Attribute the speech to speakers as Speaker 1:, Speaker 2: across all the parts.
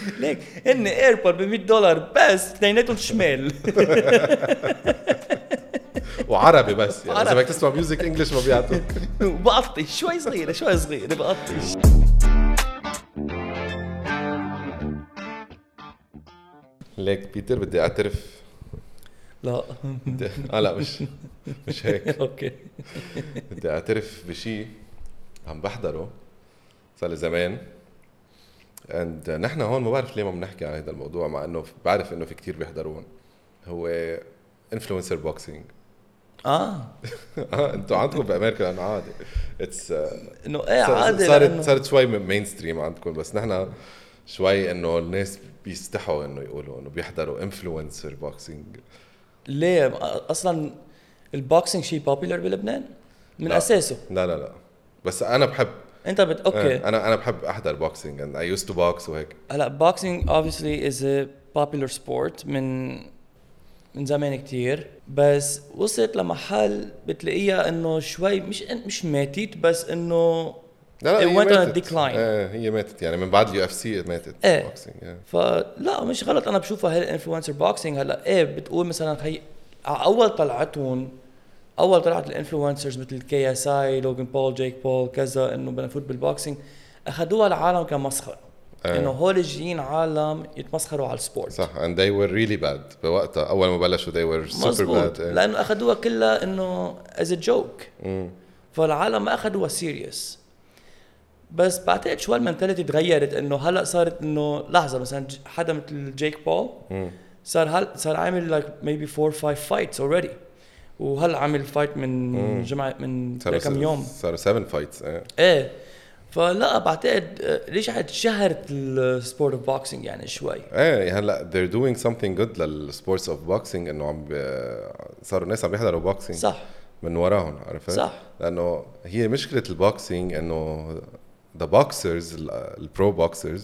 Speaker 1: ليك إن ايربود $100 بس اثنيناتهم شمال.
Speaker 2: وعربي بس يعني اذا بدك تسمع ميوزك انجلش ما بيعطوك.
Speaker 1: وبقطش شوي صغيرة بقطش.
Speaker 2: ليك بيتر بدي اعترف.
Speaker 1: لا
Speaker 2: لا مش هيك.
Speaker 1: اوكي.
Speaker 2: بدي اعترف بشيء عم بحضره صار لي زمان. نحن هون ما بعرف ليه ما بنحكي عن هذا الموضوع مع انه بعرف انه في كتير بيحضرون. هو انفلونسر بوكسينج. انتوا عندكم بامريكا لانه عادي.
Speaker 1: انه ايه عادي
Speaker 2: صارت شوي مين ستريم عندكم، بس نحن شوي انه الناس بيستحوا انه يقولوا انه بيحضروا انفلونسر بوكسينج.
Speaker 1: ليه اصلا البوكسينج شيء بوبيلر بلبنان من
Speaker 2: لا.
Speaker 1: اساسه؟
Speaker 2: لا بس انا بحب.
Speaker 1: انت اوكي.
Speaker 2: انا بحب احضر بوكسينج and I used to box وهيك.
Speaker 1: هلا boxing obviously is a popular sport من زمان كتير، بس وصلت لمحل بتلاقيها انه شوي مش ماتت، بس انه
Speaker 2: لا
Speaker 1: it went on a decline.
Speaker 2: هي ماتت يعني من بعد UFC ماتت
Speaker 1: boxing. فلا مش غلط، انا بشوفها هي الانفلونسر بوكسينج. هلا بتقول مثلا هي اول طلعت الانفلونسرز مثل KSI لوغان بول جيك بول كذا انه بنفوت بالبوكسينج، اخذوها العالم كمسخره. انه هول جايين عالم يتمسخروا على السبورت.
Speaker 2: صح and they were really bad بوقتها اول ما بلشوا they were super bad.
Speaker 1: لانه اخذوها كلها انه as a joke. فالعالم ما اخذوها سيريس. بس بعتقد شو المنتاليتي تغيرت، انه هلا صارت انه لحظه مثلا حدا مثل جيك بول صار عامل like maybe 4 or 5 fights already، وهلا عامل فايت من جمعه من كم يوم
Speaker 2: صار 7 fights.
Speaker 1: فلا بعتقد ليش شهرت السبورت اوف بوكسينج يعني شوي.
Speaker 2: هلا they're doing something good للسبورتس اوف بوكسينج، انه صاروا الناس عم بيحضروا بوكسينج
Speaker 1: صح
Speaker 2: من وراهم، عرفت؟
Speaker 1: صح.
Speaker 2: لانه هي مشكله البوكسينج انه the boxers البرو بوكسرز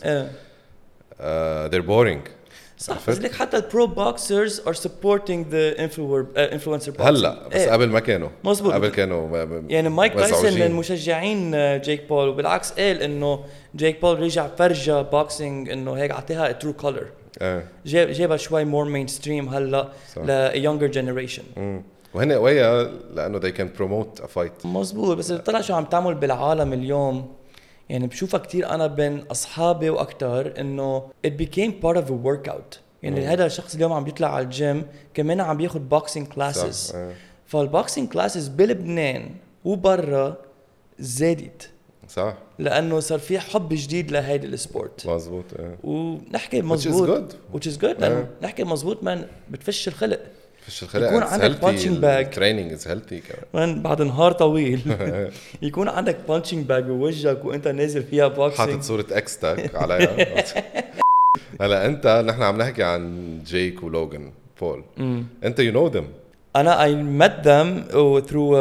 Speaker 2: they're boring.
Speaker 1: صح. بس لك حتى البرو بوكسرز are supporting the influencer boxing
Speaker 2: هلا بس قبل ما كانوا
Speaker 1: مزبوط.
Speaker 2: قبل كانوا
Speaker 1: يعني مايك تايسون من مشجعين جيك بول، وبالعكس قال انه جيك بول رجع فرجة بوكسينج انه هيك عطيها ترو كولر. جابها شوي مور مين ستريم هلا ل younger generation.
Speaker 2: وهن قوية لانه they can promote a fight.
Speaker 1: مزبوط. بس طلع شو عم تعمل بالعالم اليوم، يعني بشوفها كتير أنا بين أصحابي وأكتر إنه it became part of a workout. يعني هذا الشخص اليوم عم بيطلع على الجيم كمان عم بياخد boxing classes. فالبوكسينج كلاسز بلبنان وبرا زادت.
Speaker 2: صح.
Speaker 1: لأنه صار في حب جديد لهيدا السبورت.
Speaker 2: مزبوط.
Speaker 1: ونحكي مزبوط. which is good. لأنه نحكي مزبوط من بتفش الخلق.
Speaker 2: يكون عندك punching bag. training is healthy
Speaker 1: كمان بعد نهار طويل. يكون عندك punching bag بوجهك وانت نازل فيها boxing.
Speaker 2: حاطط صورة اكس تاك عليها. هلا انت نحن عم نحكي عن جيك ولوغان بول. انت you know them.
Speaker 1: انا I met them through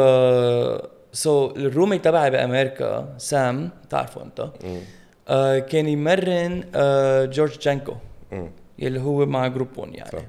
Speaker 1: so الرومي تبعي بامريكا سام تعرفه انت. كان يمرن جورج جانكو يلي هو مع جروبون يعني. صح.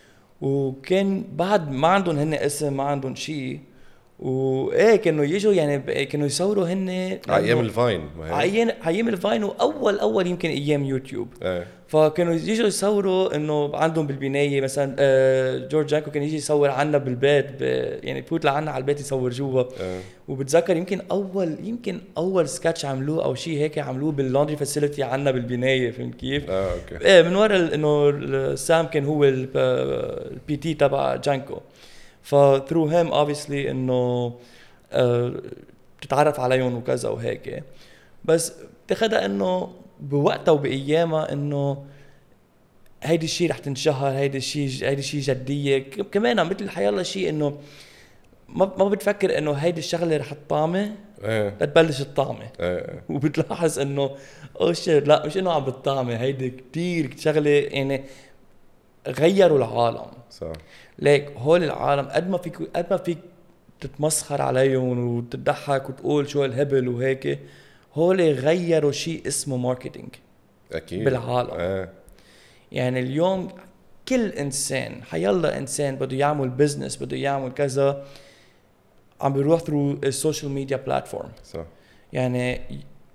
Speaker 1: وكان بعد ما عندهم هن اسم ما عندهم شيء، كانوا يجوا يعني كانوا يصوروا هن
Speaker 2: ايام الفاين.
Speaker 1: ايام الفاين واول يمكن ايام يوتيوب. فكانوا يجوا يصوروا انه عندهم بالبنايه مثلا جورج جانكو كان يجي يصور عنا بالبيت يعني بفوت لعنا على البيت يصور جوا. وبتذكر يمكن اول سكتش عملوه او شيء هيك عملوه باللوندري فاسيلتي عنا بالبنايه. فهمت كيف؟
Speaker 2: اوكي.
Speaker 1: من ورا انه سام كان هو البي تي تبع جانكو. فثرو هيم obviously انه تتعرف عليهم وكذا وهيك. بس تاخدها انه بوقتها وبايامها انه هيدي الشيء رح تنشهر، هيدي الشيء جديه كمان مثل حيالله شيء انه ما بتفكر انه هيدي الشغله رح تطامه تبلش الطعمه. وبتلاحظ انه لا مش انه عم بتطعمه، هيدي كتير شغله يعني غيروا العالم.
Speaker 2: صح.
Speaker 1: ليك هول العالم قد ما فيك تتمسخر عليهم وتضحك وتقول شو الهبل وهيك، هول غيروا شيء اسمه ماركتينج
Speaker 2: اكيد
Speaker 1: بالعالم. يعني اليوم كل انسان حيالله انسان بده يعمل بزنس بده يعمل كذا عم بيروح ثرو السوشيال ميديا بلاتفورم.
Speaker 2: صح.
Speaker 1: يعني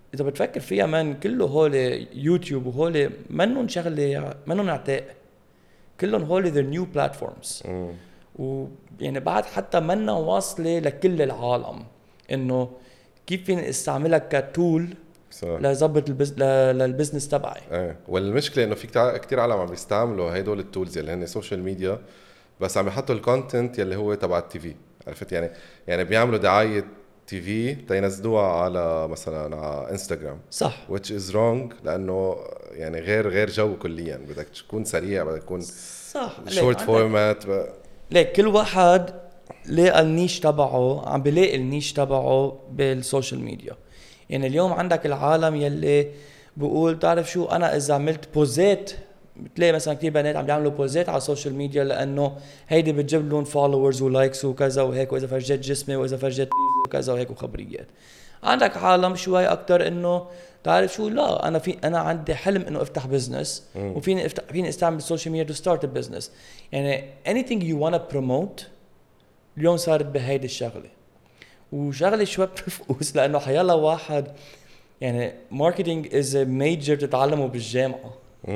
Speaker 1: اذا بتفكر فيها من كله هول يوتيوب وهول منهم شغله منهم عتاق كلهم هول their new platforms ويعني بعد حتى منا واصله لكل العالم انه كيف فيني استعملها كتول لزبط للبزنس تبعي.
Speaker 2: والمشكله انه في كتير عالم عم بيستعملوا هدول التولز اللي هن سوشيال ميديا بس عم يحطوا الكونتنت يلي هو تبع التي في. عرفت يعني بيعملوا دعايه تي في تينزلوها على مثلا على انستغرام
Speaker 1: صح
Speaker 2: which is wrong لانه يعني غير جو كليا. بدك تكون سريع بدك تكون
Speaker 1: صح
Speaker 2: شورت فورمات
Speaker 1: ليك كل واحد لقى النيش تبعه عم بلاقي النيش تبعه بالسوشيال ميديا. يعني اليوم عندك العالم يلي بقول تعرف شو انا اذا عملت بوزات بتلاقي مثلا كتير بنات عم يعملوا بوزات على السوشيال ميديا لانه هيدي بتجيب لهم فولورز ولايكس وكذا وهيك واذا فرجت جسمي واذا فرجت وكذا وهيك وخبريات. عندك عالم شوي اكتر انه تعرف شو لا انا عندي حلم انه افتح بزنس فيني استعمل السوشيال ميديا تو ستارت بزنس. يعني anything you want to promote اليوم صارت بهيدي الشغله وشغله شوي بتفقوس لانه حيلا واحد يعني ماركتينج از ميجر تتعلمه بالجامعه.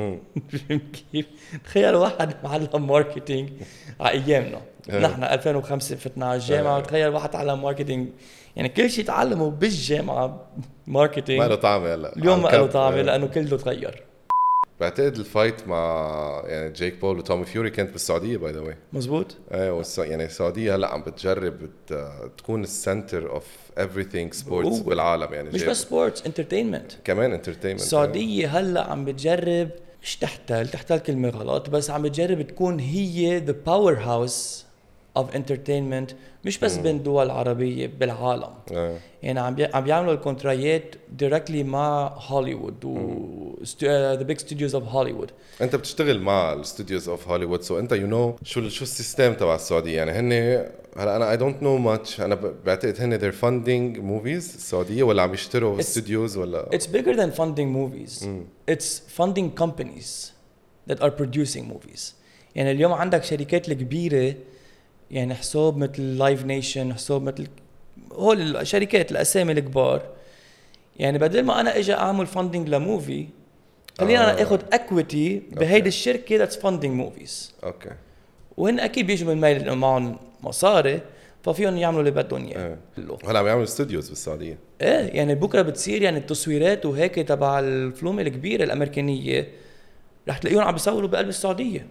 Speaker 1: كيف تخيل واحد معلم ماركتينج على ايامنا نحن 2005 فتنا على الجامعه وتخيل واحد تعلم ماركتينج يعني كل شيء تعلمه بالجامعه ماركتينج
Speaker 2: ما له طعمه هلا
Speaker 1: اليوم ما له طعمه لانه كله تغير.
Speaker 2: بعتقد الفايت مع يعني جيك بول وتومي فيوري كانت بالسعوديه باي ذا واي.
Speaker 1: مزبوط.
Speaker 2: يعني السعوديه هلا عم بتجرب تكون السنتر اوف everything سبورتس بالعالم. يعني
Speaker 1: مش بس سبورتس انترتينمنت
Speaker 2: كمان انترتينمنت.
Speaker 1: السعوديه هلا عم بتجرب مش تحتل كلمه غلط بس عم بتجرب تكون هي the powerhouse of entertainment مش بس بين دول عربية بالعالم. يعني عم بيعملوا الكونترايات directly مع هوليوود و the big studios of Hollywood.
Speaker 2: انت بتشتغل مع الستوديوز اوف هوليوود سو انت شو السيستم تبع السعودية. يعني هن هلا انا I don't know much. انا بعتقد هن they're funding movies السعودية ولا عم يشتروا استوديوز ولا
Speaker 1: It's bigger than funding movies. It's funding companies that are producing movies. يعني اليوم عندك شركات الكبيرة يعني حساب مثل لايف نيشن حساب مثل هول الشركات الاسامي الكبار. يعني بدل ما انا اجي اعمل فاندنج لموفي خلينا انا اخذ اكويتي بهيدي الشركه ذاتس فاندنج موفيز.
Speaker 2: اوكي
Speaker 1: وهن اكيد بيجوا من ميل معهم مصاري ففيهم يعملوا اللي بدهم اياه.
Speaker 2: هلا عم يعملوا استوديوز بالسعوديه.
Speaker 1: يعني بكره بتصير يعني التصويرات وهيك تبع الفلوم الكبيره الامريكانيه رح تلاقيهم عم بيصوروا بقلب السعوديه.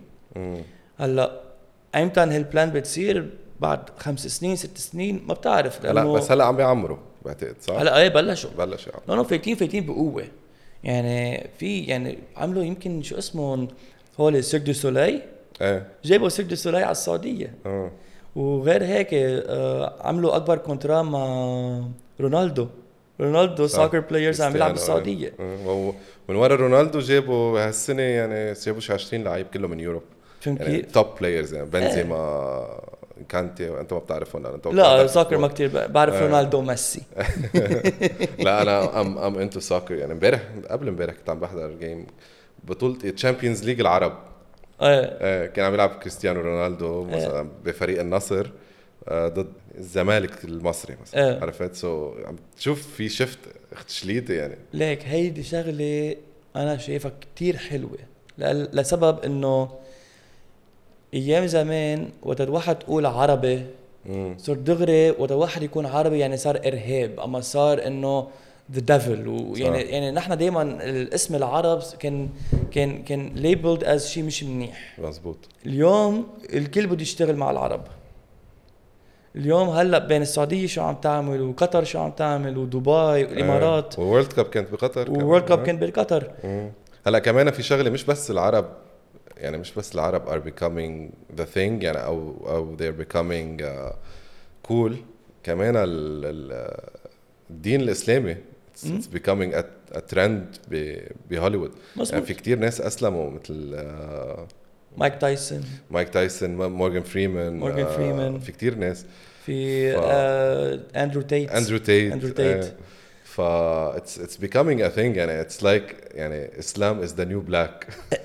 Speaker 1: هلا ايمتى هالبلان بتصير بعد 5 سنين 6 سنين ما بتعرف.
Speaker 2: لا بس هلا عم بيعمروا بعتقد صح.
Speaker 1: هلا بلشوا
Speaker 2: لا
Speaker 1: فايتين بقوه. يعني في يعني عملوا يمكن شو اسمهم هول سيرك دو سولاي. جابوا سيرك دو سولاي على السعوديه. وغير هيك عملوا اكبر كونترا مع رونالدو سوكر بلايرز عم يلعب بالسعوديه.
Speaker 2: من ورا رونالدو جابوا هالسنه يعني جابوا شي 20 لعيب كله من يوروب. يعني توب بلايرز يعني بنزيما كانتي وانت ما بتعرفهم.
Speaker 1: لا سوكر ما كتير بعرف رونالدو ميسي.
Speaker 2: لا انا ام انتو سوكر. يعني قبل امبارح كنت عم بحضر جيم بطولة تشامبيونز ليج العرب. كان عم يلعب كريستيانو رونالدو مثلا بفريق النصر ضد الزمالك المصري مثلا. عرفت سو عم تشوف في شفت اختشليته. يعني
Speaker 1: ليك هيدي شغله انا شايفها كتير حلوه لسبب انه ايام زمان وقت الواحد تقول عربي صار دغري وقت الواحد يكون عربي يعني صار ارهاب اما صار انه the devil. يعني نحن دائما الاسم العرب كان labeled as شيء مش منيح.
Speaker 2: مزبوط.
Speaker 1: اليوم الكل بده يشتغل مع العرب. اليوم هلا بين السعوديه شو عم تعمل وقطر شو عم تعمل ودبي والامارات
Speaker 2: وورلد كاب كانت بقطر.
Speaker 1: وورلد كاب كان بقطر.
Speaker 2: هلا كمان في شغله مش بس العرب يعني مش بس العرب are becoming the thing يعني أو they're becoming cool. كمان الدين الإسلامي it's becoming a trend بهوليوود. يعني في كتير ناس أسلموا مثل
Speaker 1: مايك تايسون
Speaker 2: مورغان فريمان في كتير ناس في
Speaker 1: أندرو تيت.
Speaker 2: it's becoming a thing. يعني it's like يعني Islam is the new black.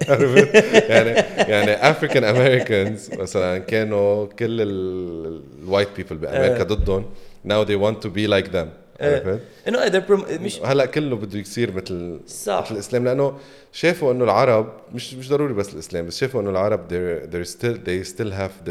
Speaker 2: يعني African Americans مثلا كانوا كل الوايت people بأمريكا ضدهم. now they want to be like them. عرفت
Speaker 1: انه مش
Speaker 2: هلا كله بده يصير مثل الاسلام لانه شافوا انه العرب مش ضروري بس الاسلام بس شافوا انه العرب they still have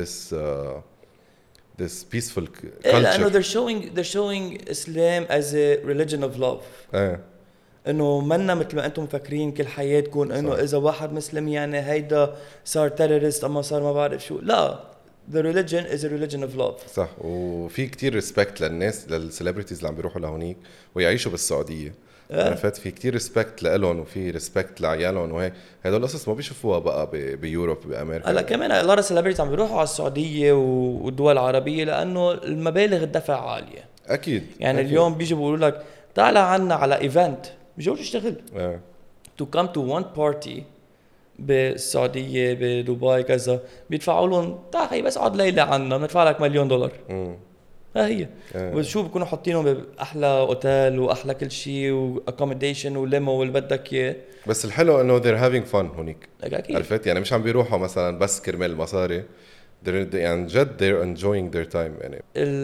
Speaker 2: this peaceful culture
Speaker 1: لانه they're showing Islam as a religion of love. انه منا مثل ما انتم مفكرين كل حياتكم انه اذا واحد مسلم يعني هيدا صار تيرورست اما صار ما بعرف شو. لا the religion is a religion of love.
Speaker 2: صح. وفي كتير ريسبكت للناس للسليبرتيز اللي عم بيروحوا لهونيك ويعيشوا بالسعوديه. عرفت في كتير ريسبكت لهم وفي ريسبكت لعيالهم وهيك. هدول القصص ما بيشوفوها بقى بيوروب بامريكا.
Speaker 1: هلا كمان a lot of celebrities عم بيروحوا على السعوديه والدول العربيه لانه المبالغ الدفع عاليه.
Speaker 2: اكيد
Speaker 1: يعني
Speaker 2: أكيد.
Speaker 1: اليوم بيجوا بيقولوا لك تعال عنا على ايفنت بيجوا يشتغل to come to one party بالسعوديه بدبي كذا بيدفعوا لهم تعال بس اقعد ليله عنا بندفع لك $1,000,000. ها هي وشو بيكونوا حاطينهم باحلى اوتيل واحلى كل شيء واكوموديشن وليمو واللي بدك اياه.
Speaker 2: بس الحلو انه they're having fun هونيك.
Speaker 1: اكيد
Speaker 2: عرفت يعني مش عم بيروحوا مثلا بس كرمال المصاري. يعني جد they're enjoying their time. يعني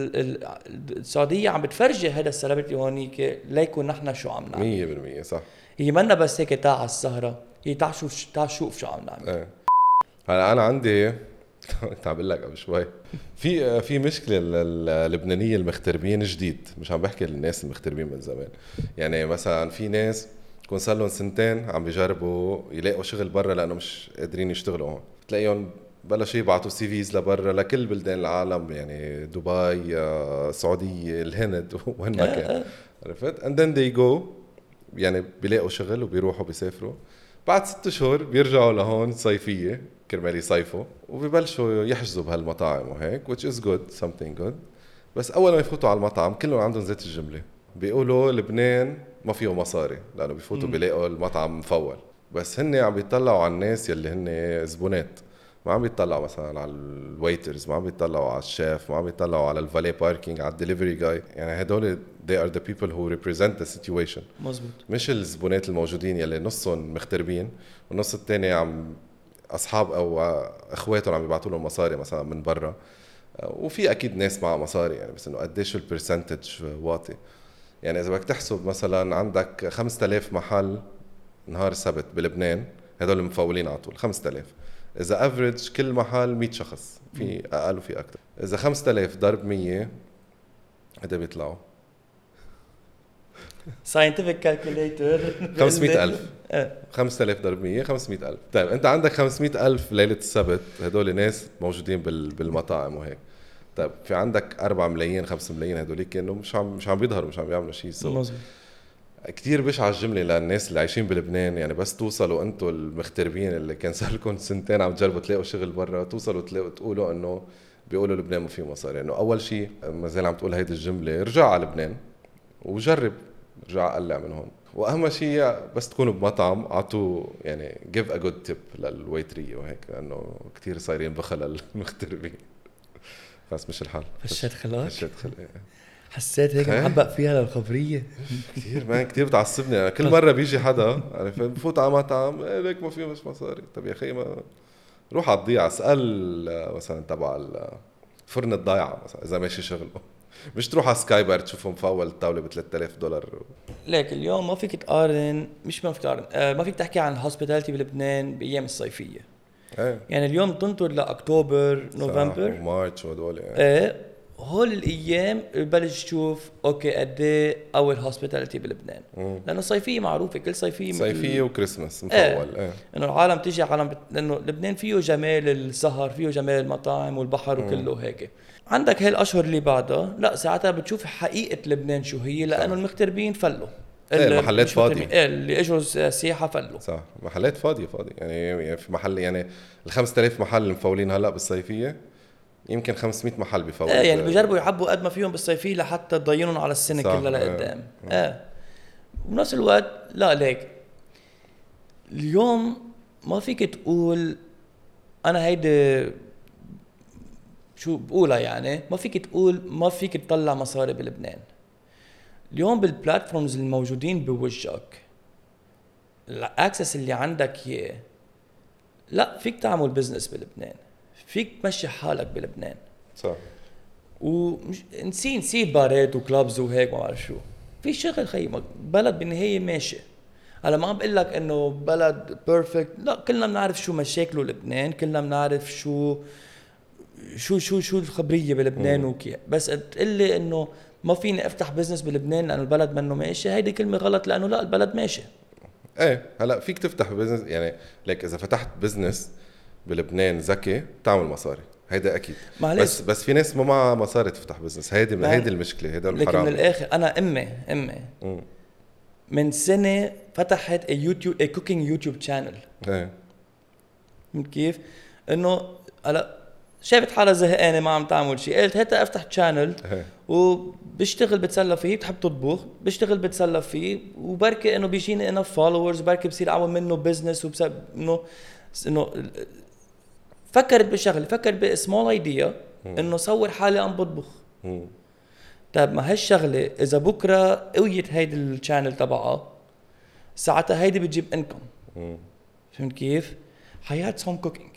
Speaker 1: السعوديه عم بتفرجي هذا السليبرتي هونيك ليكون نحن شو عم نعمل.
Speaker 2: 100% صح.
Speaker 1: هي منا بس هيك تاع السهره هي تعال شوف شو عم نعمل.
Speaker 2: هلا انا عندي كنت عم بقول لك قبل شوي في مشكله اللبنانيه المغتربين جديد. مش عم بحكي للناس المغتربين من زمان. يعني مثلا في ناس يكون صار لهم 2 سنين عم بيجربوا يلاقوا شغل برا لانه مش قادرين يشتغلوا هون. بتلاقيهم بلشوا يبعتوا CVs لبرا لكل بلدان العالم يعني دبي السعوديه الهند وين ما كان. عرفت and then they go يعني بيلاقوا شغل وبيروحوا بيسافروا. بعد 6 شهور بيرجعوا لهون صيفيه كرمال يصيفوا وبيبلشوا يحجزوا بهالمطاعم وهيك which is good something good. بس اول ما يفوتوا على المطعم كلهم عندهم زيت الجمله. بيقولوا لبنان ما فيه مصاري لانه بيفوتوا بيلاقوا المطعم مفول. بس هن عم بيطلعوا على الناس يلي هن زبونات. ما عم بيطلعوا مثلا على الويترز ما عم بيطلعوا على الشيف ما عم بيطلعوا على الفالي باركينج على الدليفري جاي. يعني هدول they are the people who represent the situation.
Speaker 1: مزبوط.
Speaker 2: مش الزبونات الموجودين يلي نصهم مغتربين والنص الثاني عم اصحاب او اخواتهم عم يبعثوا لهم مصاري مثلا من برا. وفي اكيد ناس معها مصاري يعني بس انه قديش البرسنتج واطي. يعني اذا بدك تحسب مثلا عندك 5000 محل نهار السبت بلبنان هدول مفولين على طول 5000. اذا افريج كل محل 100 شخص في اقل وفي اكثر. اذا 5000 ضرب 100 قد بيطلعوا
Speaker 1: scientific calculator
Speaker 2: 500,000. 5000 ضرب 100 500,000. طيب انت عندك 500,000 ليله السبت هدول ناس موجودين بالمطاعم وهيك. طيب في عندك 4 ملايين 5 ملايين هدول كانوا مش عم بيظهروا مش عم بيعملوا شيء. كتير بشعة الجملة للناس اللي عايشين بلبنان. يعني بس توصلوا انتوا المغتربين اللي كان صار لكم 2 سنين عم تجربوا تلاقوا شغل برا توصلوا تقولوا انه بيقولوا لبنان ما فيه مصاري. انه اول شيء ما زال عم تقول هيدي الجملة رجع على لبنان وجرب رجع قلع من هون. واهم شيء بس تكونوا بمطعم اعطوا يعني give a good tip للويترية وهيك لانه كتير صايرين بخل المغتربين. بس مش الحال.
Speaker 1: فشت خلاك.
Speaker 2: فشت خلاك.
Speaker 1: حسيت هيك محبق فيها للخبرية
Speaker 2: كتير بتعصبني. يعني كل مرة بيجي حدا عارف بفوت على مطعم ليك ما فيه مش مصاري. طب يا أخي ما روح على الضيعة اسأل مثلا تبع فرن الضيعة مثلا إذا ماشي شغله. مش تروح على سكاي بار تشوفهم مفول الطاولة $3,000.
Speaker 1: ليك اليوم ما فيك تقارن مش ما فيك تقارن ما فيك تحكي عن الهوسبيتاليتي بلبنان بأيام الصيفية. يعني اليوم تنطر لأكتوبر نوفمبر
Speaker 2: ومارتش وهدول
Speaker 1: هول الايام ببلش تشوف اوكي قد ايه اول هوسبيتاليتي بلبنان. لانه صيفيه معروفه كل صيفيه
Speaker 2: وكريسماس مفول.
Speaker 1: انه العالم تيجي لانه لبنان فيه جمال السهر فيه جمال المطاعم والبحر وكله هيك. عندك هالاشهر اللي بعدها لا ساعتها بتشوف حقيقه لبنان شو هي لانه المغتربين فلوا
Speaker 2: المحلات فاضيه
Speaker 1: اللي اجوا سياحه فلوا.
Speaker 2: صح محلات فاضيه يعني في محل يعني ال 5000 محل المفولين هلا بالصيفيه يمكن 500 محل بفوت.
Speaker 1: يعني بيجربوا يعبوا قد ما فيهم بالصيفيه لحتى تضينهم على السنه كلها لقدام. بنفس الوقت لا ليك اليوم ما فيك تقول انا هيدا شو بقولها يعني ما فيك تقول ما فيك تطلع مصاري بلبنان. اليوم بالبلاتفورمز الموجودين بوجهك الاكسس اللي عندك اياه لا فيك تعمل بزنس بلبنان فيك تمشي حالك بلبنان.
Speaker 2: صح.
Speaker 1: نسيت بارات وكلابز وهيك ما بعرف شو في شغل خي بلد بالنهايه ماشي. هلا ما عم بقول لك انه بلد بيرفكت، لا كلنا بنعرف شو مشاكله لبنان، كلنا بنعرف شو الخبريه بلبنان وكيف، بس تقول لي انه ما فيني افتح بزنس بلبنان لانه البلد منه ماشي، هيدي كلمه غلط لانه لا البلد ماشي.
Speaker 2: ايه هلا فيك تفتح بزنس يعني لك اذا فتحت بزنس بلبنان ذكي بتعمل مصاري، هيدا اكيد. بس في ناس ما معها مصاري تفتح بزنس، هيدي المشكله، هيدا الحرام.
Speaker 1: لكن من الاخر انا امي من سنه فتحت يوتيوب كوكينج يوتيوب شانل.
Speaker 2: ايه
Speaker 1: كيف انه هلا شافت حالها زهقانه ما عم تعمل شيء، قلت هات افتح شانل وبشتغل بتسلى فيه، بتحب تطبخ بشتغل بتسلى فيه، وبركي انه بيجيني انا فولورز، بركي بصير اعمل منه بزنس، وبسبب انه فكرت بشغله، فكرت بسمول ايديا انه صور حالي عم بطبخ. طيب ما هالشغله اذا بكره قويت هيدي الشانل تبعها ساعتها هيدي بتجيب انكم. فهمت كيف؟ حيات's home cooking.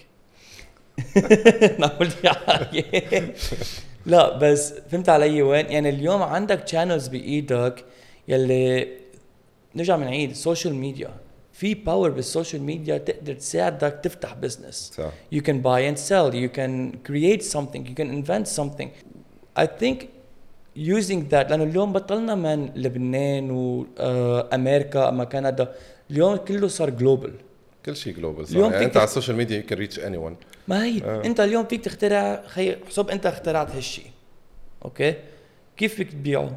Speaker 1: نقول يعني لا بس فهمت علي وين؟ يعني اليوم عندك channels بإيدك يلي نرجع من عيد السوشيال ميديا، في باور بالسوشيال ميديا تقدر تساعدك تفتح بزنس. You can buy and sell, you can create something, you can invent something. I think using that لأنه اليوم بطلنا من لبنان وأمريكا أما كندا، اليوم كله صار global،
Speaker 2: كل شيء جلوبال. يعني انت على السوشيال ميديا you can reach anyone.
Speaker 1: ما هي انت اليوم فيك تخترع حسب انت اخترعت هالشيء، اوكي كيف فيك تبيعه؟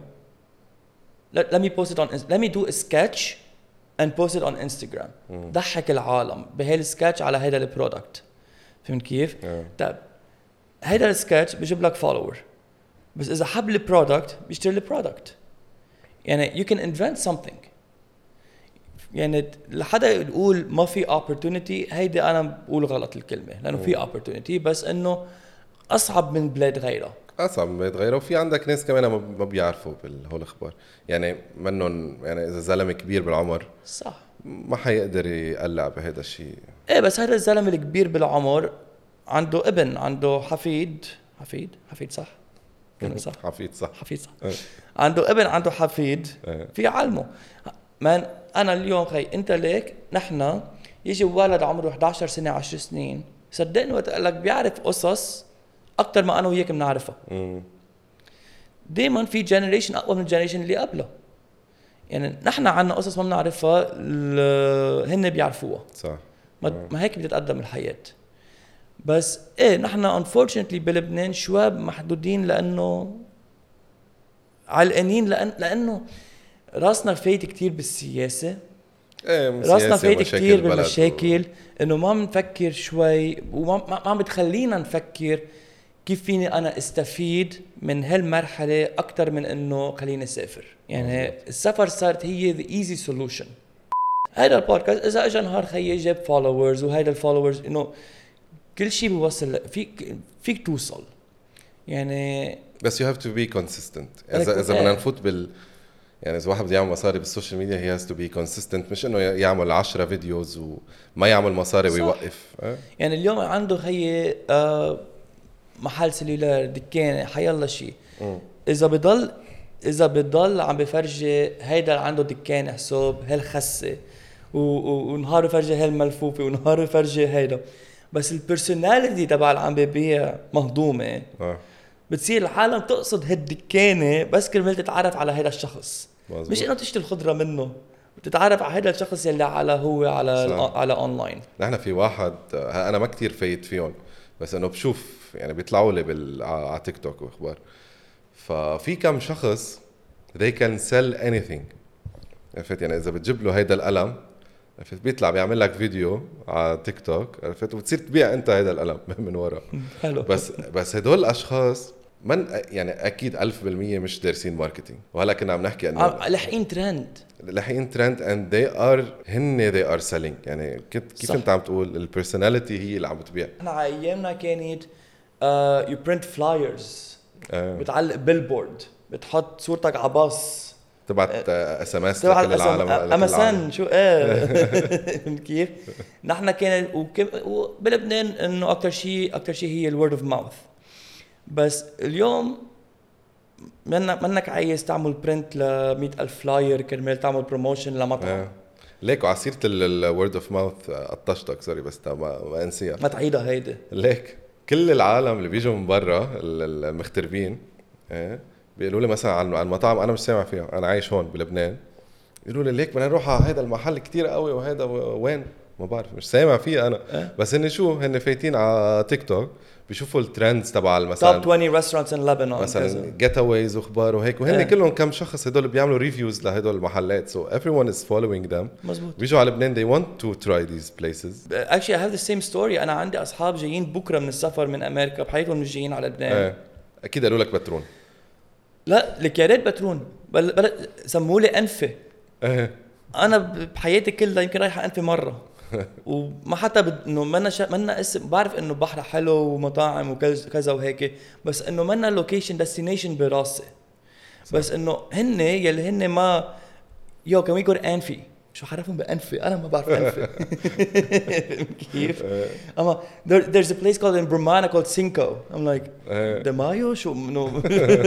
Speaker 1: let me post it on let me do a sketch and post it on Instagram. ضحك العالم بهالسكتش على هذا البرودكت. فهمت كيف؟ طيب هذا السكتش بيجيب لك فولور، بس اذا حب البرودكت بيشتري البرودكت. يعني you can invent something. يعني لحدا يقول ما في opportunity، هيدي أنا بقول غلط الكلمة، لأنه في opportunity بس إنه أصعب من بلاد غيرها،
Speaker 2: أصعب من بلاد غيرها. وفي عندك ناس كمان ما بيعرفوا بالهول الأخبار، يعني منهم يعني إذا زلمة كبير بالعمر
Speaker 1: صح
Speaker 2: ما حيقدر يقلع بهذا الشيء.
Speaker 1: إيه بس هذا الزلمة الكبير بالعمر عنده ابن، عنده حفيد صح؟ صح
Speaker 2: حفيد صح
Speaker 1: عنده ابن، عنده حفيد في علمه. من أنا اليوم خي أنت ليك نحنا يجي ولد عمره 11 سنة 10 سنين صدقني وقت لك بيعرف قصص أكتر ما أنا وياك بنعرفها. دايما في جنريشن أقوى من الجنريشن اللي قبله. يعني نحنا عنا قصص ما بنعرفها هن بيعرفوها.
Speaker 2: صح.
Speaker 1: ما هيك بتتقدم الحياة. بس إيه نحنا unfortunately بلبنان شواب محدودين لأنه علقانين لأنه راسنا فايت كتير بالسياسة. راسنا فايت كتير بالمشاكل انه ما بنفكر شوي وما عم بتخلينا نفكر كيف فيني انا استفيد من هالمرحلة اكتر من انه خليني اسافر. يعني السفر صارت هي the easy solution. هيدا البودكاست اذا اجى نهار خيي جاب followers وهيدا الفولورز انه كل شيء بيوصل فيك توصل يعني.
Speaker 2: بس you have to be consistent. اذا بدنا نفوت يعني إذا واحد بده يعمل مصاري بالسوشيال ميديا he has to be consistent، مش إنه يعمل 10 فيديوز وما يعمل مصاري ويوقف.
Speaker 1: يعني اليوم عنده خيي محل سلولار، دكانة، حيالله شيء. إذا بضل عم بفرجي هيدا عنده دكانة حساب هالخسة ونهار يفرجي هالملفوفة ونهار يفرجي هيدا، بس البرسوناليتي تبع اللي عم ببيع مهضومة. بتصير العالم تقصد هالدكانة بس كرمال تتعرف على هذا الشخص. مزبوط. مش انه تشتري الخضرة منه، بتتعرف على هذا الشخص اللي على اونلاين.
Speaker 2: نحن في واحد انا ما كتير فايت فيهم بس انه بشوف يعني بيطلعوا لي على تيك توك واخبار، ففي كم شخص they can sell anything. عرفت يعني اذا بتجيب له هيدا القلم عرفت بيطلع بيعمل لك فيديو على تيك توك عرفت وبتصير تبيع انت هيدا القلم من ورا.
Speaker 1: حلو.
Speaker 2: بس هدول الاشخاص من يعني اكيد 1000% مش دارسين ماركتينج. وهلا كنا عم نحكي انه
Speaker 1: لحقين ترند
Speaker 2: and they are selling. يعني كيف انت عم تقول البيرسوناليتي هي اللي عم بتبيع.
Speaker 1: احنا ايامنا كانت you print flyers بتعلق بيلبورد، بتحط صورتك على باص،
Speaker 2: تبعت SMS لكل العالم.
Speaker 1: امازون شو كيف نحن كان وبلبنان انه اكثر شيء هي الورد اوف ماوث. بس اليوم منك عايز تعمل برنت ل100,000 فلاير كرمال تعمل بروموشن لمطعم.
Speaker 2: ليك وعلى سيرة الورد اوف ماوث قطشتك سوري بس ما انسيها
Speaker 1: ما تعيدها هيدي.
Speaker 2: ليك كل العالم اللي بيجوا من برا المغتربين بيقولوا لي مثلا عن المطاعم انا مش سامع فيها، انا عايش هون بلبنان، يقولوا لي ليك بدنا نروح على هذا المحل كتير قوي وهذا وين ما بعرف مش سامع فيه انا. بس هن شو هن فايتين على تيك توك بيشوفوا الترندز تبع مثلا
Speaker 1: توب 20 ريستورانتس ان لبنان
Speaker 2: مثلا جيت اويز واخبار وهيك، وهن كلهم كم شخص هدول بيعملوا ريفيوز لهدول المحلات. so everyone is following them.
Speaker 1: مزبوط.
Speaker 2: بيجوا على لبنان they want to try these places.
Speaker 1: actually I have the same story. انا عندي اصحاب جايين بكره من السفر من امريكا بحياتهم مش جايين على لبنان.
Speaker 2: اكيد قالوا لك بترون.
Speaker 1: لا لك يا ريت بترون سموا لي انفه. انا بحياتي كلها يمكن رايحه انفه مره وما حتى انه منا اسم، بعرف انه بحر حلو ومطاعم وكذا وهيك، بس انه منا لوكيشن ديستنيشن براسي. بس انه هن يلي هن ما كان ويقول انفي شو حرفهم بانفي، انا ما بعرف انفي كيف. اما there's a place called in Bromana called Cinco. I'm like de Mayo شو منو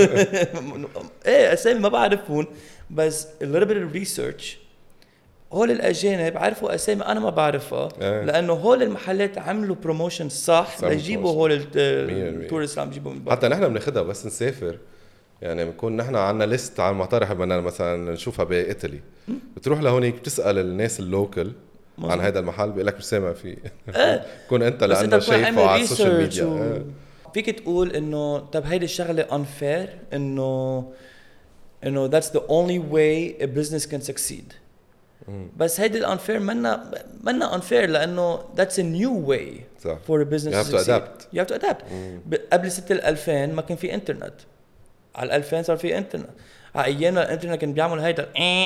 Speaker 1: ايه اسامي ما بعرفهم، بس a little bit of research هول الأجانب عرفوا أسامي أنا ما بعرفها لأنه هول المحلات عملوا بروموشن صح ليجيبوا هول التورست اللي عم يجيبوا من برا.
Speaker 2: حتى نحن بناخدها بس نسافر، يعني بنكون نحن عنا ليست على المطارح بدنا مثلا نشوفها بإيطالي، بتروح لهونيك بتسأل الناس اللوكل عن هذا المحل بيقول لك مش سامع فيه. كون أنت لأنه شايفه على السوشيال ميديا
Speaker 1: فيك تقول إنه طب هيدي الشغلة unfair، إنه that's the only way a business can succeed. بس هيدي الانفير منا انفير لانه that's a new way
Speaker 2: صح.
Speaker 1: for a business
Speaker 2: you have to adapt.
Speaker 1: you have to adapt. قبل 2000 ما كان في انترنت، على 2000 صار في انترنت. على ايامنا الانترنت كان بيعمل هيدا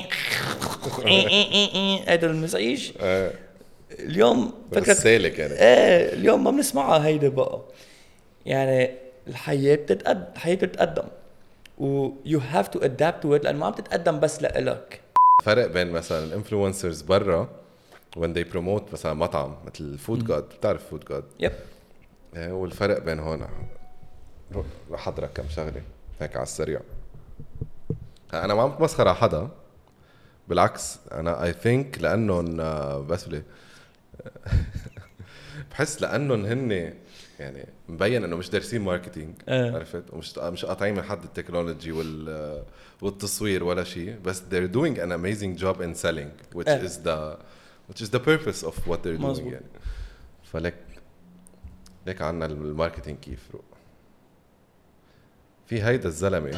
Speaker 1: هيدا المزعج. اليوم
Speaker 2: فكرة سالك يعني
Speaker 1: اليوم ما بنسمعها هيدا بقى. يعني الحياة بتتقدم و you have to adapt to it لأنه ما عم تتقدم بس لإلك.
Speaker 2: فرق بين مثلا الانفلونسرز برا when they promote مثلا مطعم مثل فود جاد، بتعرف فود جاد؟
Speaker 1: يب.
Speaker 2: والفرق بين هون رح احضرك كم شغله هيك على السريع. انا ما عم بتمسخر على حدا، بالعكس انا اي ثينك لانهم بس بحس لانهم هن يعني مبين انه مش دارسين ماركتينج عرفت، ومش قاطعين من حد التكنولوجي والتصوير ولا شيء، بس they're doing an amazing job in selling which is the purpose of what they're doing يعني. فلك عنا الماركتينج كيف روق. في هيدا الزلمه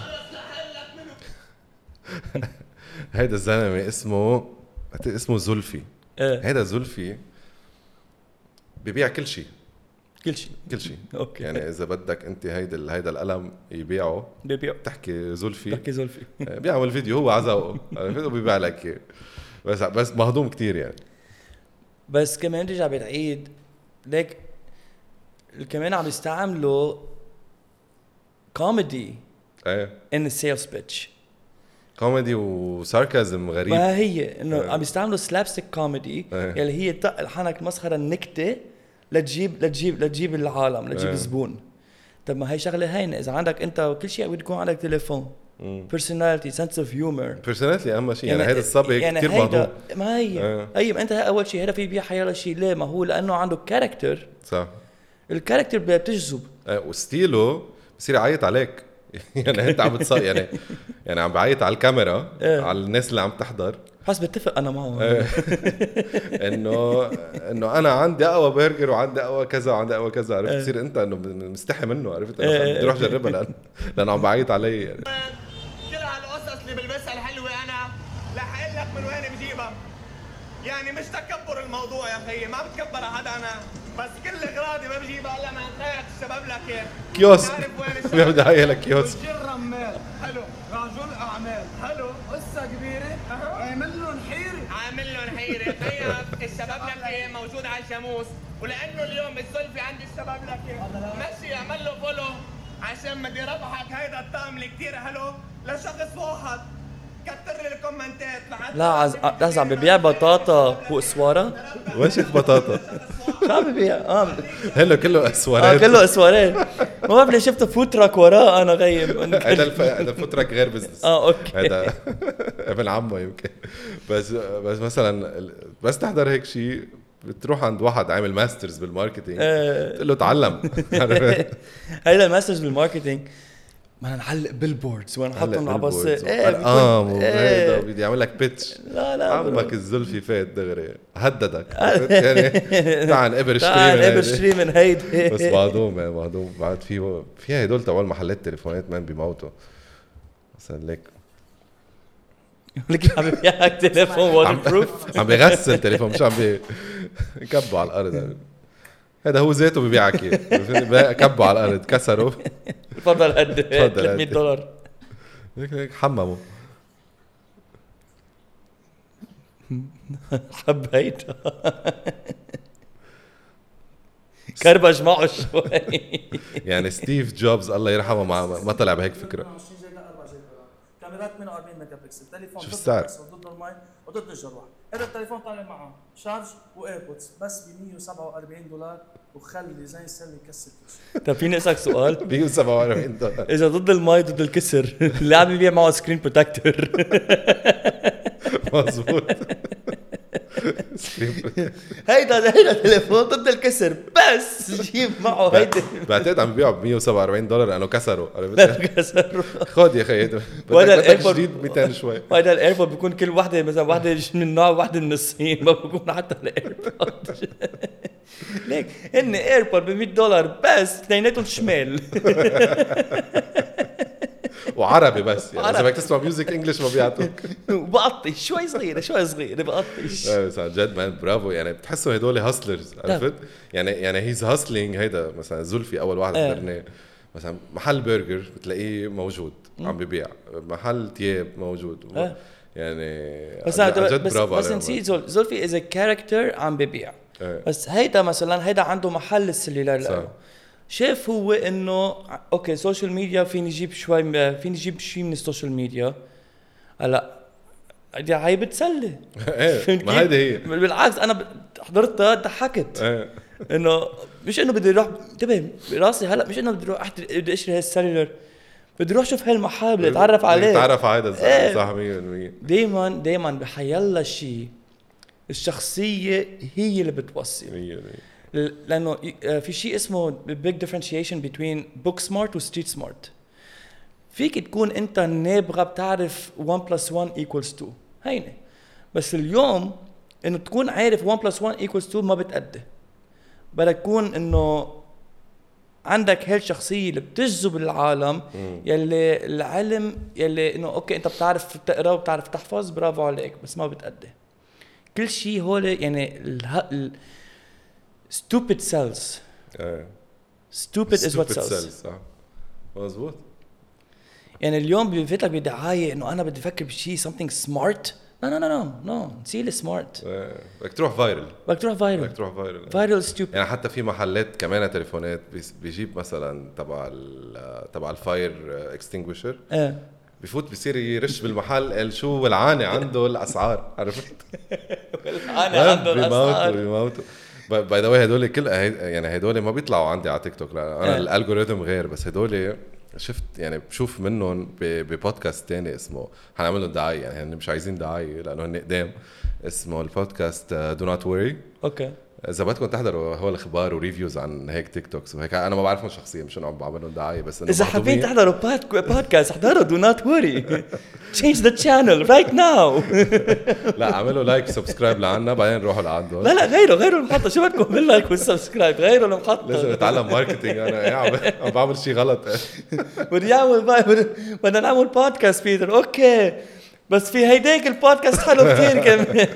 Speaker 2: هيدا الزلمه اسمه زلفي. هيدا زلفي بيبيع كل شيء
Speaker 1: اوكي.
Speaker 2: يعني اذا بدك انت هيدا القلم يبيعه تحكي زلفي بيعمل فيديو هو عزقه بيبيع لك بس مهضوم كتير يعني.
Speaker 1: بس كمان رجع بتعيد ليك كمان عم يستعملوا كوميدي in the sales pitch.
Speaker 2: كوميدي وساركازم غريب.
Speaker 1: ما هي انه عم يستعملوا سلابستيك كوميدي يلي هي طق الحنك مسخره النكته لتجيب العالم لتجيب الزبون. طب ما هي شغله هينه اذا عندك انت كل شيء بده يكون عندك تليفون personality sense of humor
Speaker 2: personality اهم شيء يعني هذا الصبي يعني كثير مهضوم.
Speaker 1: ما هي طيب انت اول شيء هذا في بيع حياله شيء ليه؟ ما هو لانه عنده كاركتر
Speaker 2: صح.
Speaker 1: الكاركتر بتجذب
Speaker 2: وستيله بصير يعيط عليك يعني انت عم بتصير يعني عم بعيط على الكاميرا على الناس اللي عم تحضر.
Speaker 1: بس بتفق انا معه
Speaker 2: انه انا عندي اقوى برجر وعندي اقوى كذا وعندي اقوى كذا عرفت. تصير انت انه مستحي منه عرفت بدي اروح اجربها لانه عم بعيط علي يعني.
Speaker 3: كل هالقصص اللي بلبسها الحلوه انا رح اقول لك من وين بجيبها. يعني مش تكبر الموضوع يا اخي، ما بتكبر حدا انا، بس كل اغراضي ما بجيبها الا من خيرك الشباب لك اياه.
Speaker 2: كيوسك بدي احكي لك كيوسك.
Speaker 3: رجل رمال حلو، رجل اعمال حلو، قصه كبيره عامل لهم حيره يا خيي. الشباب لك اياه موجود على الجاموس، ولانه اليوم الزلفي عندي الشباب لك اياه ماشي اعمل له فولو عشان بدي ربحك هيدا الطقم اللي كثير حلو لشخص واحد كتر لي الكومنتات
Speaker 1: لا لحظة عم ببيع بطاطا واسوارة.
Speaker 2: وش بطاطا؟
Speaker 1: شو عم ببيع؟
Speaker 2: هلا كله اسوارات.
Speaker 1: كله اسوارات. ما بعرف ليه شفت فوتراك وراه انا غيم.
Speaker 2: هذا فوتراك غير بزنس.
Speaker 1: اوكي.
Speaker 2: هذا ابن عمه يمكن. بس مثلا بس تحضر هيك شيء بتروح عند واحد عامل ماسترز بالماركتينج تقول له تعلم.
Speaker 1: هيدا الماسترز بالماركتينج ما نعلق بيلبوردز ونحطهم على بس
Speaker 2: هيدا بدي اعمل لك بيتش.
Speaker 1: لا
Speaker 2: عمك الزلفي فات دغري هددك يعني تعال ابر
Speaker 1: من هيدي.
Speaker 2: بس بعضهم بعد في هدول تبع المحلات تليفونات مان بيموتوا مثلا ليك
Speaker 1: لك عم بيحكي تليفون ووتر بروف
Speaker 2: عم بيغسل تليفون مش عم بيكبوا على الارض. هذا هو ذاته ببيعك كبوا على الارض كسروا.
Speaker 1: تفضل قد $300
Speaker 2: هيك حمموا.
Speaker 1: حبيتها كربج معه شوي.
Speaker 2: يعني ستيف جوبز الله يرحمه ما طلع بهيك فكره.
Speaker 1: كاميرات 48 ميجا بكسل، تليفون
Speaker 2: شوف السعر
Speaker 1: ضد المي وضد الجروح. هذا التليفون طالع معه شارج وايربودز بس ب $147 وخلي زي السله يكسر كل. طيب فيني اسالك سؤال؟
Speaker 2: $147
Speaker 1: اذا ضد المي ضد الكسر اللي عم يبيع معه سكرين بروتكتور.
Speaker 2: مظبوط.
Speaker 1: هيدا تليفون ضد الكسر بس جيب معه هيدا.
Speaker 2: بعتقد عم بيبيعوا $147 لانه كسروا. خد يا اخي
Speaker 1: بدك
Speaker 2: جديد 200 شوي.
Speaker 1: هيدا الايربود بيكون كل وحده مثلا وحده من نوع وحده من الصين ما بيكون حتى الايربود. ليك هن ايربود $100 بس اثنيناتهم شمال
Speaker 2: وعربي بس يعني اذا بدك تسمع ميوزك انجلش ما بيعطوك.
Speaker 1: وبقطش شوي صغيره بقطش.
Speaker 2: بس عن جد مان برافو يعني بتحسوا هدول هاسلرز عرفت يعني هيز هاسلينج. هيدا مثلا زلفي اول واحد حضرناه مثلا محل برجر بتلاقيه موجود عم ببيع محل تياب موجود يعني
Speaker 1: بس بس نسيت زلفي از كاركتر عم ببيع. بس هيدا مثلا هيدا عنده محل السلولار له شايف هو انه اوكي سوشيال ميديا فيني اجيب شيء من السوشيال ميديا. هلا هي بتسلي.
Speaker 2: ما هيدا هي
Speaker 1: بالعكس انا حضرتها ضحكت. انه مش انه بدي اروح انتبه براسي هلا مش انه بدي اروح بدي اشتري هالسلولر بدي اروح شوف هالمحل بدي اتعرف عليه
Speaker 2: تعرف على هذا صح 100%.
Speaker 1: دايما بحيلا شيء الشخصيه هي اللي بتوصل
Speaker 2: 100%.
Speaker 1: لانه في شيء اسمه big differentiation between book smart و street smart. فيك تكون انت نابغه بتعرف 1 + 1 = 2 هينه بس اليوم انه تكون عارف 1 + 1 = 2 ما بتأدي. بدك تكون انه عندك هالشخصيه اللي بتجذب العالم يلي العلم يلي انه اوكي انت بتعرف تقرا وبتعرف تحفظ برافو عليك بس ما بتأدي. كل شيء هول يعني stupid sells. stupid is what sells.
Speaker 2: صح مظبوط.
Speaker 1: يعني اليوم بيفتلك بدعاية انه انا بدي افكر بشيء something smart. no نسيل smart.
Speaker 2: بدك تروح فايرل
Speaker 1: stupid.
Speaker 2: يعني حتى في محلات كمان تليفونات بيجيب مثلا تبع الفاير اكستنجويشر بفوت بصير يرش بالمحل قال شو ولعانه عنده الاسعار عرفت.
Speaker 1: ولعانه عنده الاسعار
Speaker 2: بيموتوا. باي ذا واي هدول كل يعني هدول ما بيطلعوا عندي على تيك توك. لا انا الالجوريثم غير بس هدول شفت يعني بشوف منهم ببودكاست تاني اسمه هنعمل له دعايه يعني مش عايزين دعايه لانه هن قدام اسمه البودكاست دو نوت وري.
Speaker 1: اوكي
Speaker 2: اذا بدكم تحضروا هو الاخبار وريفيوز عن هيك تيك توكس وهيك انا ما بعرفهم شخصيا مش انه عم بعمل لهم دعايه بس انه
Speaker 1: اذا حابين تحضروا بودكاست احضروا دو نوت وري change the channel right now.
Speaker 2: لا اعملوا لايك سبسكرايب لعنا بعدين نروحوا لعندهم.
Speaker 1: لا غيروا المحطه شو بدكم باللايك والسبسكرايب غيروا المحطه.
Speaker 2: لازم اتعلم ماركتينج انا عم بعمل شيء غلط.
Speaker 1: بدنا نعمل بودكاست بيتر اوكي بس في هيداك البودكاست حلو كتير كمان.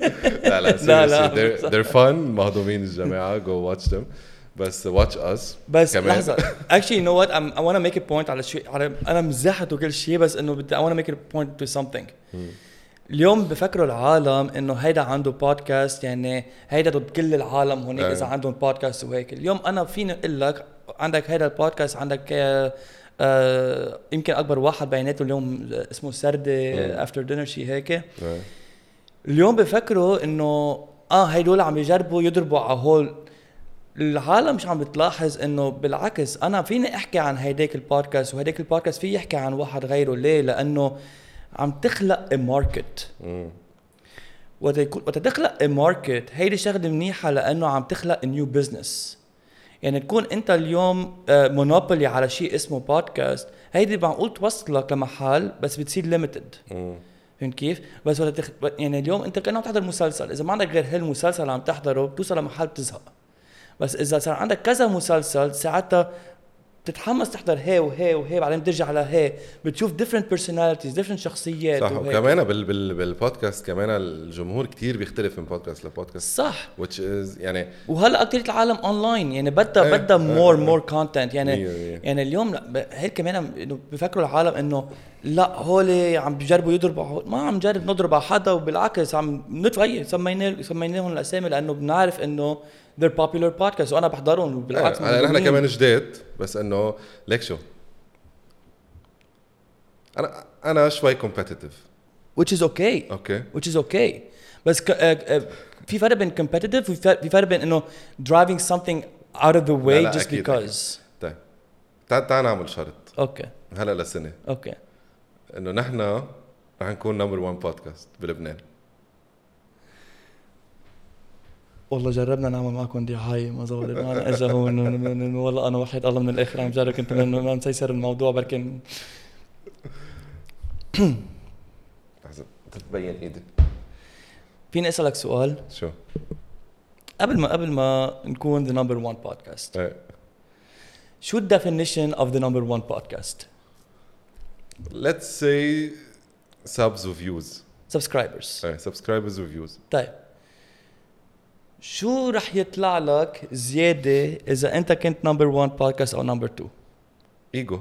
Speaker 2: لا they're fun مهضومين الجماعة go watch them بس watch us
Speaker 1: بس لحظة actually you know what I want to make a point على شيء أنا مزحت وكل شيء بس إنه I want to make a point to something. اليوم بفكروا العالم إنه هيدا عنده بودكاست يعني هيدا ضد كل العالم هناك إذا عندهم بودكاست وهيك. اليوم أنا فيني أقول لك عندك هيدا البودكاست عندك يمكن اكبر واحد بيناته اليوم اسمه سردة افتر دينر شيء هيك. اليوم بفكروا انه هيدول عم يجربوا يضربوا على هول. العالم مش عم بتلاحظ انه بالعكس انا فيني احكي عن هيداك البودكاست وهيداك البودكاست فيه يحكي عن واحد غيره. ليه؟ لانه عم تخلق ماركت. وتخلق ماركت هيدي شغله منيحه لانه عم تخلق نيو بزنس. يعني تكون انت اليوم مونوبولي على شيء اسمه بودكاست، هيدي معقول توصلك لمحل بس بتصير ليميتد. فهمت كيف؟ بس يعني اليوم انت كأنه عم تحضر مسلسل، اذا ما عندك غير هالمسلسل عم تحضره بتوصل لمحل بتزهق. بس اذا صار عندك كذا مسلسل ساعتها بتتحمس تحضر هي وهي وهي، بعدين بترجع على هي، بتشوف different personalities different شخصيات.
Speaker 2: صح. وكمان بالبودكاست كمان الجمهور كتير بيختلف من بودكاست لبودكاست.
Speaker 1: صح.
Speaker 2: which is يعني
Speaker 1: وهلا اكثر العالم اونلاين يعني بدها more content يعني اليوم هيك كمان بفكروا العالم انه لا هول عم بيجربوا يضربوا، ما عم نجرب نضرب على حدا، وبالعكس عم نتغير سميناهم الاسامي لانه بنعرف انه they're popular podcasts وانا بحضرهم بالعكس.
Speaker 2: نحن كمان جداد بس انه ليك شو انا شوي competitive
Speaker 1: which is okay بس في فرق بين competitive وفي فرق بين انه driving something out of the way لا just أكيد because
Speaker 2: أكيد. تعال نعمل شرط.
Speaker 1: اوكي
Speaker 2: هلا لسنه
Speaker 1: اوكي
Speaker 2: انه نحن رح نكون نمبر 1 بودكاست بلبنان.
Speaker 1: والله جربنا نعمل معكم دعاية ما زبطت معنا. اجا هون والله انا وحيد الله من الاخر عم جرب كنت ما مسيسر الموضوع بركن
Speaker 2: لحظه تبين ايدي.
Speaker 1: فيني اسالك سؤال؟
Speaker 2: شو؟
Speaker 1: قبل ما نكون the number 1 podcast شو the definition of the number 1 podcast?
Speaker 2: Let's say subs و views.
Speaker 1: subscribers.
Speaker 2: subscribers و views.
Speaker 1: طيب شو رح يطلع لك زيادة إذا أنت كنت number 1 podcast أو number 2؟
Speaker 2: ايجو.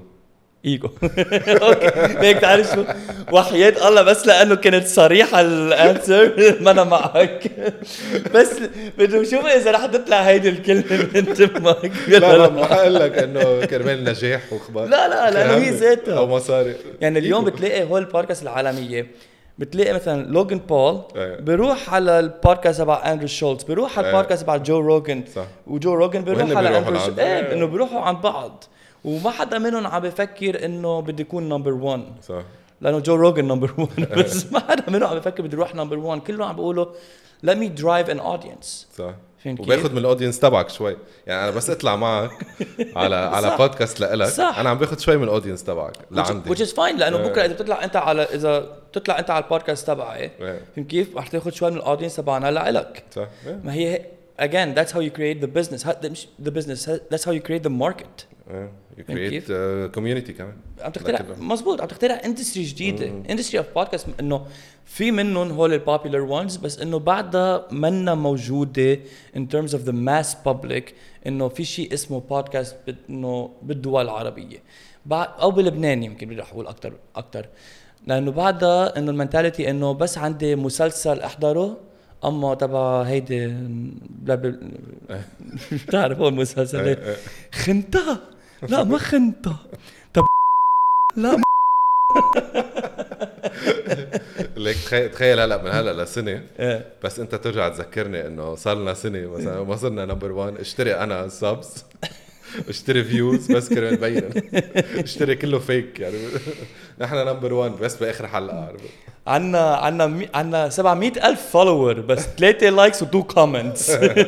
Speaker 1: اوكي ليك تعرف شو وحياة الله بس لأنه كانت صريحة الانسر ما أنا معك بس بدي نشوف إذا رح تطلع هيدي الكلمة من تمك.
Speaker 2: لا ما حقول لك إنه كرمال نجاح وخبر.
Speaker 1: لا لأنه هي ذاتها
Speaker 2: أو مصاري.
Speaker 1: يعني اليوم بتلاقي هول البودكاست العالمية بتلاقي مثلا لوغان بول بيروح على البودكاست تبع اندرو شولتز، بيروح على البودكاست تبع جو روغن، وجو روغن بيروح على اندرو شولتز. انه بيروحوا عن بعض وما حدا منهم عم بفكر انه بدي يكون نمبر 1. صح. لانه جو روغن نمبر 1 بس ما حدا منهم عم بفكر بدي يروح نمبر 1. كلهم عم بيقولوا let me drive an audience. صح.
Speaker 2: وباخد من الاودينس تبعك شوي. يعني انا بس اطلع معك على بودكاست لإلك انا عم باخد شوي من الاودينس تبعك لعندي.
Speaker 1: which is fine لانه بكره اذا بتطلع انت على البودكاست تبعي فهمت كيف رح تاخد شوي من الاودينس تبعنا لإلك. صح. ما هي again that's how you create the business. That's how you create the market.
Speaker 2: you create community كمان.
Speaker 1: عم تخترع مزبوط، عم تخترع اندستري جديده. اندستري اوف بودكاست انه في منهم هول البوبولار وانز بس انه بعدها منا موجوده in terms of the mass public انه في شيء اسمه بودكاست انه بالدول العربيه او بلبنان يمكن بدي اقول اكثر لانه بعدها انه المنتاليتي انه بس عندي مسلسل احضره اما تبع هيدي بتعرف هو المسلسل خنتها لا ما خنتها طب لا
Speaker 2: ليك تخيل هلا من هلا لسنه بس انت ترجع تذكرني انه صار لنا سنه مثلا ما صرنا نمبر 1 اشتري انا سبس اشتري فيوز بس كرمال نبين اشتري كله فيك يعني نحن نمبر 1 بس باخر حلقه عارف
Speaker 1: عنا 700,000 فولوور بس 3 لايكس و2 كومنتس.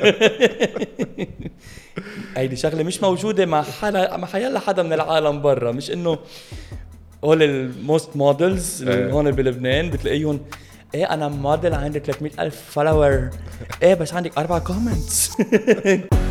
Speaker 1: هيدي شغله مش موجوده مع حيلا حدا من العالم برا. مش انه هول الموست مودلز هون بلبنان بتلاقيهم ايه انا موديل عندي 300,000 فولوور ايه بس عندك 4 كومنتس.